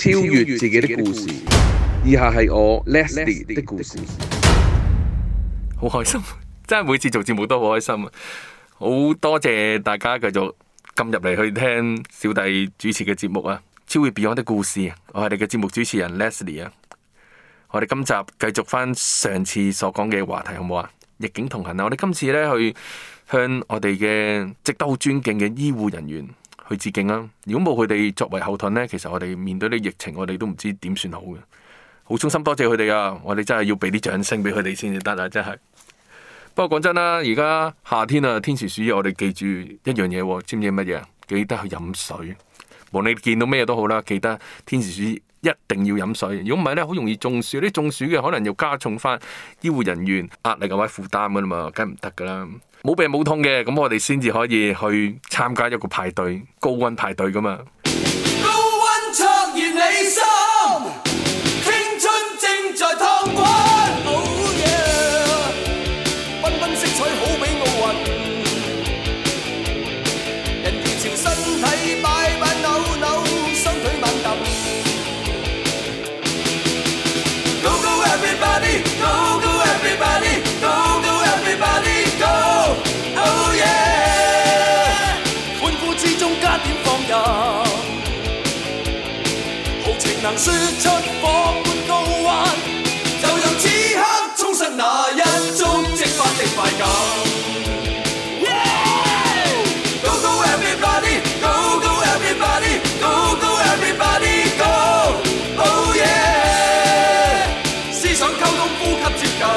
超越自己的故事。以下係我 Leslie 的故事。 好開心，真係每次做節目都好開心啊！好多謝大家繼續撳入嚟去聽小弟主持嘅節目啊！超越 Beyond 的故事，我係你嘅節目主持人 Leslie 啊！我哋今集繼續翻上次所講嘅話題，好唔好啊？逆境同行啊！我哋今次咧去向我哋嘅值得好尊敬嘅醫護人員去致敬啦！如果冇佢哋作為後盾呢，其實我哋面對啲疫情，我哋都唔知點算好嘅。好衷心多謝佢哋啊！我哋真係要俾啲掌聲俾佢哋先至得啊！真係。不過講真啦，而家夏天啊，天時暑熱，我哋記住一樣嘢，知唔知乜嘢？記得去飲水。無論你見到咩都好啦，記得天時暑熱一定要飲水。如果唔係咧，好容易中暑。啲中暑嘅可能又加重翻醫護人員壓力或者負擔噶啦嘛，梗係唔得噶啦。冇病冇痛嘅，咁我哋先至可以去參加一個派對，高溫派對噶嘛。 高溫灼熱你心，青春正在燙滾。能說出火般高溫，就讓此刻衝上那一觸即發的快感。Go go everybody, go go everybody, go go everybody, go, oh yeah！ 思想溝通，呼吸接近，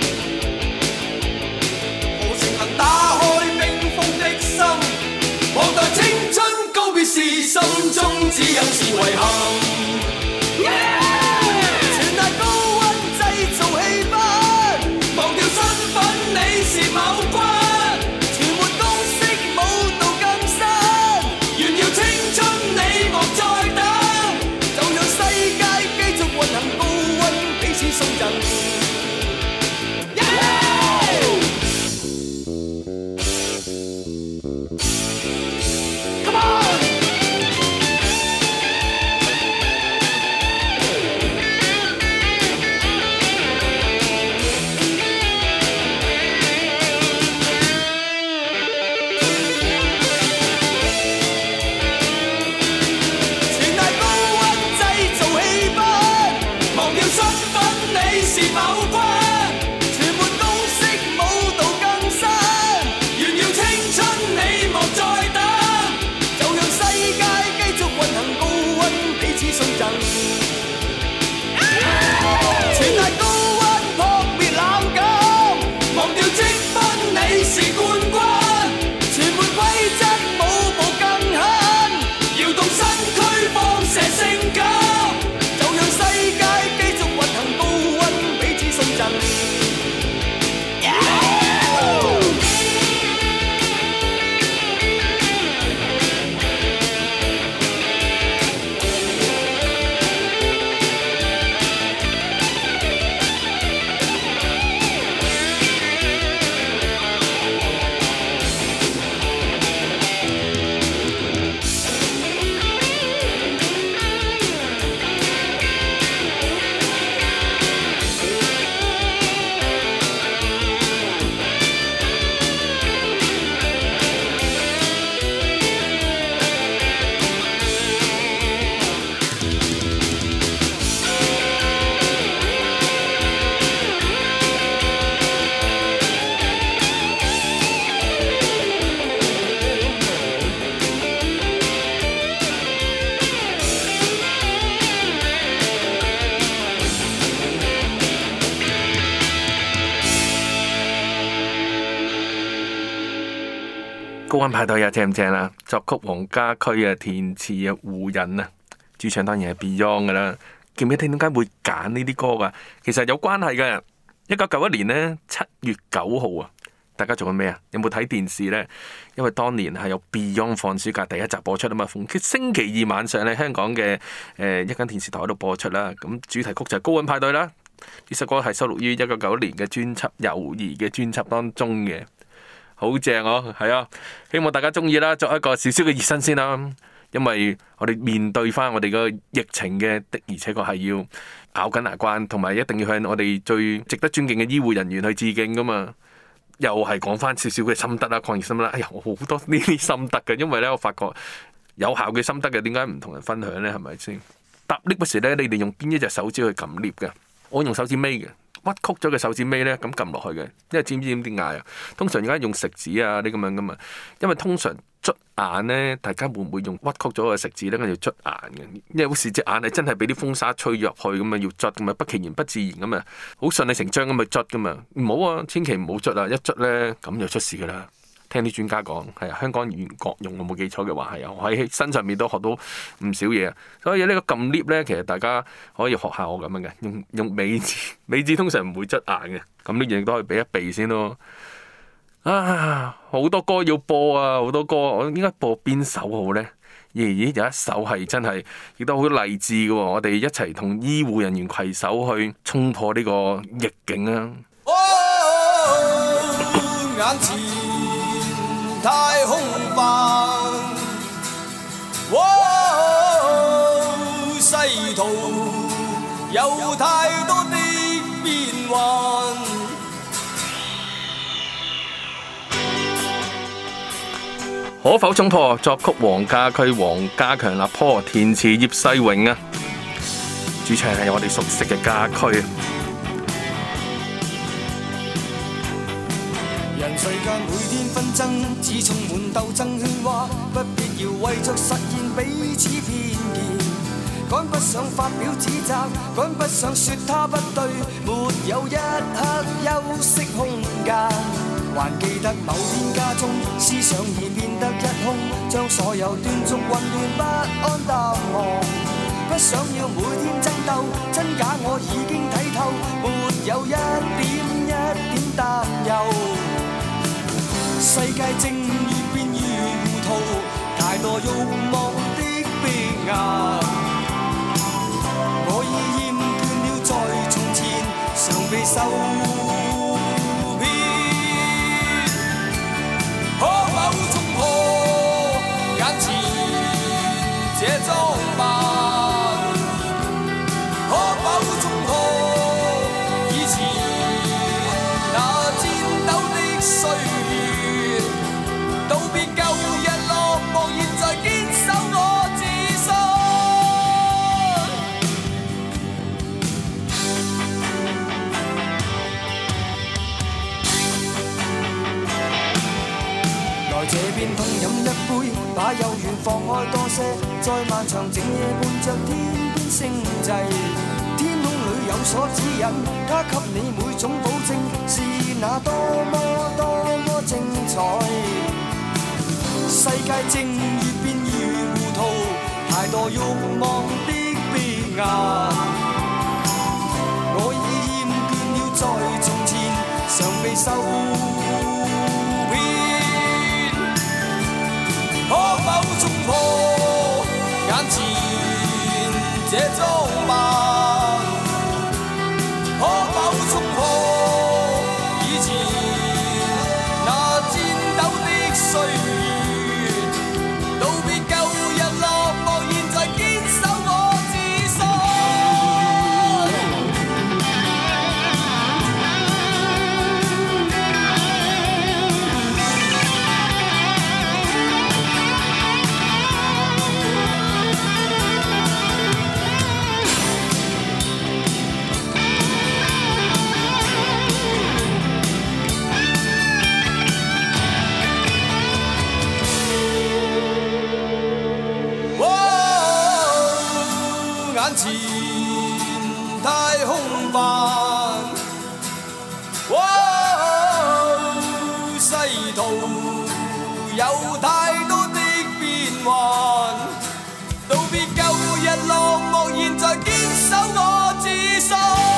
何情能打開冰封的心？望待青春告別時，心中只有是遺憾。全賴高溫製造氣氛，忘掉身份你是某君，全沒公式舞蹈更新，炫耀青春你莫再等，就讓世界繼續運行，高溫彼此送贈。 高溫派對啊，正唔正啊？作曲黃家駒啊，填詞啊胡人啊，主唱當然係 Beyond 噶啦。記唔記得點解會揀呢啲歌噶？其實有關係嘅。1991年呢，7月9號啊，大家做緊咩啊？有冇睇電視呢？因為當年係有 Beyond 放暑假第一集播出啊嘛，逢星期二晚上咧，香港嘅一間電視台度播出啦。咁主題曲就係高溫派對啦。呢首歌係收錄於1991年嘅專輯《友誼》嘅專輯當中嘅。好正哦，係啊！希望大家中意啦，作一個少少嘅熱身先啦。 因為我哋面對翻我哋個疫情嘅，而且確係要咬緊牙關，同埋一定要向我哋最值得尊敬嘅醫護人員去致敬噶嘛。又係講翻少少嘅心得啦，抗疫心得啦。哎呀，我好多呢啲心得嘅，因為咧我發覺有效嘅心得嘅，點解唔同人分享咧？係咪先？搭 lift 嗰時咧，你哋用邊一隻手指去撳 lift 嘅？我用手指尾嘅。屈曲咗嘅手指尾咧，咁撳落去嘅，因為知唔知點解啊？通常而家用食指啊啲咁樣噶嘛，因為通常捽眼咧，大家會唔會用屈曲咗嘅食指咧，跟住捽眼嘅？因為有時隻眼係真係俾啲風沙吹入去咁啊，要捽咁啊，不其然不自然咁啊，好順理成章咁去捽噶嘛，唔好啊，千祈唔好捽啊！一捽咧咁就出事噶啦。聽啲專家講係啊，香港語言各用，我冇記錯嘅話係啊，我喺身上面都學到唔少嘢啊。所以呢個撳 lift 咧，其實大家可以學下我咁樣嘅，用尾指，尾指通常唔會捽眼嘅，咁呢樣都可以避一避先咯。啊，好多歌要播啊，好多歌，我應該播邊首好咧？咦，有一首係真係亦都好勵志嘅喎，我哋一齊同醫護人員攜手去衝破呢個逆境啊！ 眼前太空泛，世途有太多的變幻。 可否衝破？作曲黃家駒、黃家強、立坡，填詞葉世榮啊！主唱係我哋熟悉嘅家駒。 人世間每天紛爭，只充滿鬥爭喧嘩，不必要為着實現彼此偏見。趕不上發表指責，趕不上說他不對，沒有一刻休息空間。還記得某天家中，思想已變得一空，將所有斷續混亂不安答案。不想要每天爭鬥，真假我已經睇透，沒有一點擔憂。世界正越變越糊塗，太多慾望的逼壓。我已厭倦了在從前常被受騙，可否衝破眼前這裝扮？可否衝破以前那顫抖的歲月？道別舊日落寞，現在堅守我自信。來這邊痛飲一杯，把幽怨放開多些，在漫長整夜伴着天邊星際，天空裏有所指引，它給你每種保證，是那多麼精彩。世界正越變越糊塗，太多慾望的逼壓。我已厭倦了在從前常被受騙，可否衝破眼前這裝扮？可否衝破以前那顫抖的歲月？道別舊日落寞，現在堅守我自信。眼前太空泛，世途有太多的變幻，道別舊日落寞，現在堅守我自信。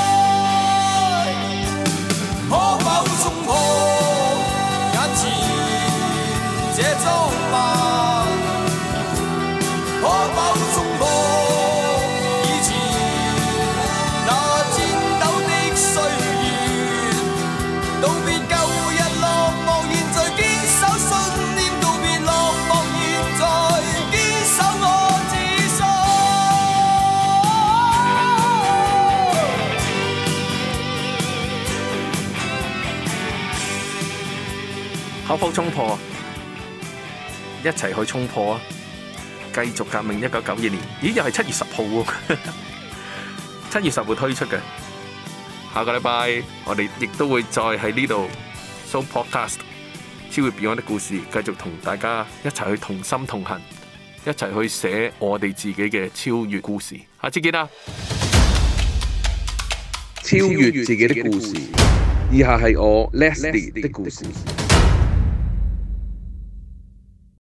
可否衝破眼前這裝扮？可否衝破以前那顫抖的歲月？道別舊日落寞，現在堅守信念，道別落寞，現在堅守我口火衝破，一齊去衝破啊！繼續革命1992年，咦又係7月10號喎，7月10號推出嘅。下個禮拜我哋亦都會再喺呢度 So Podcast 超越 Beyond 的故事，繼續同大家一齊去同心同行，一齊去寫我哋自己嘅超越故事。下次見啦！ 超越自己的故事，以下係我 Leslie 的故事。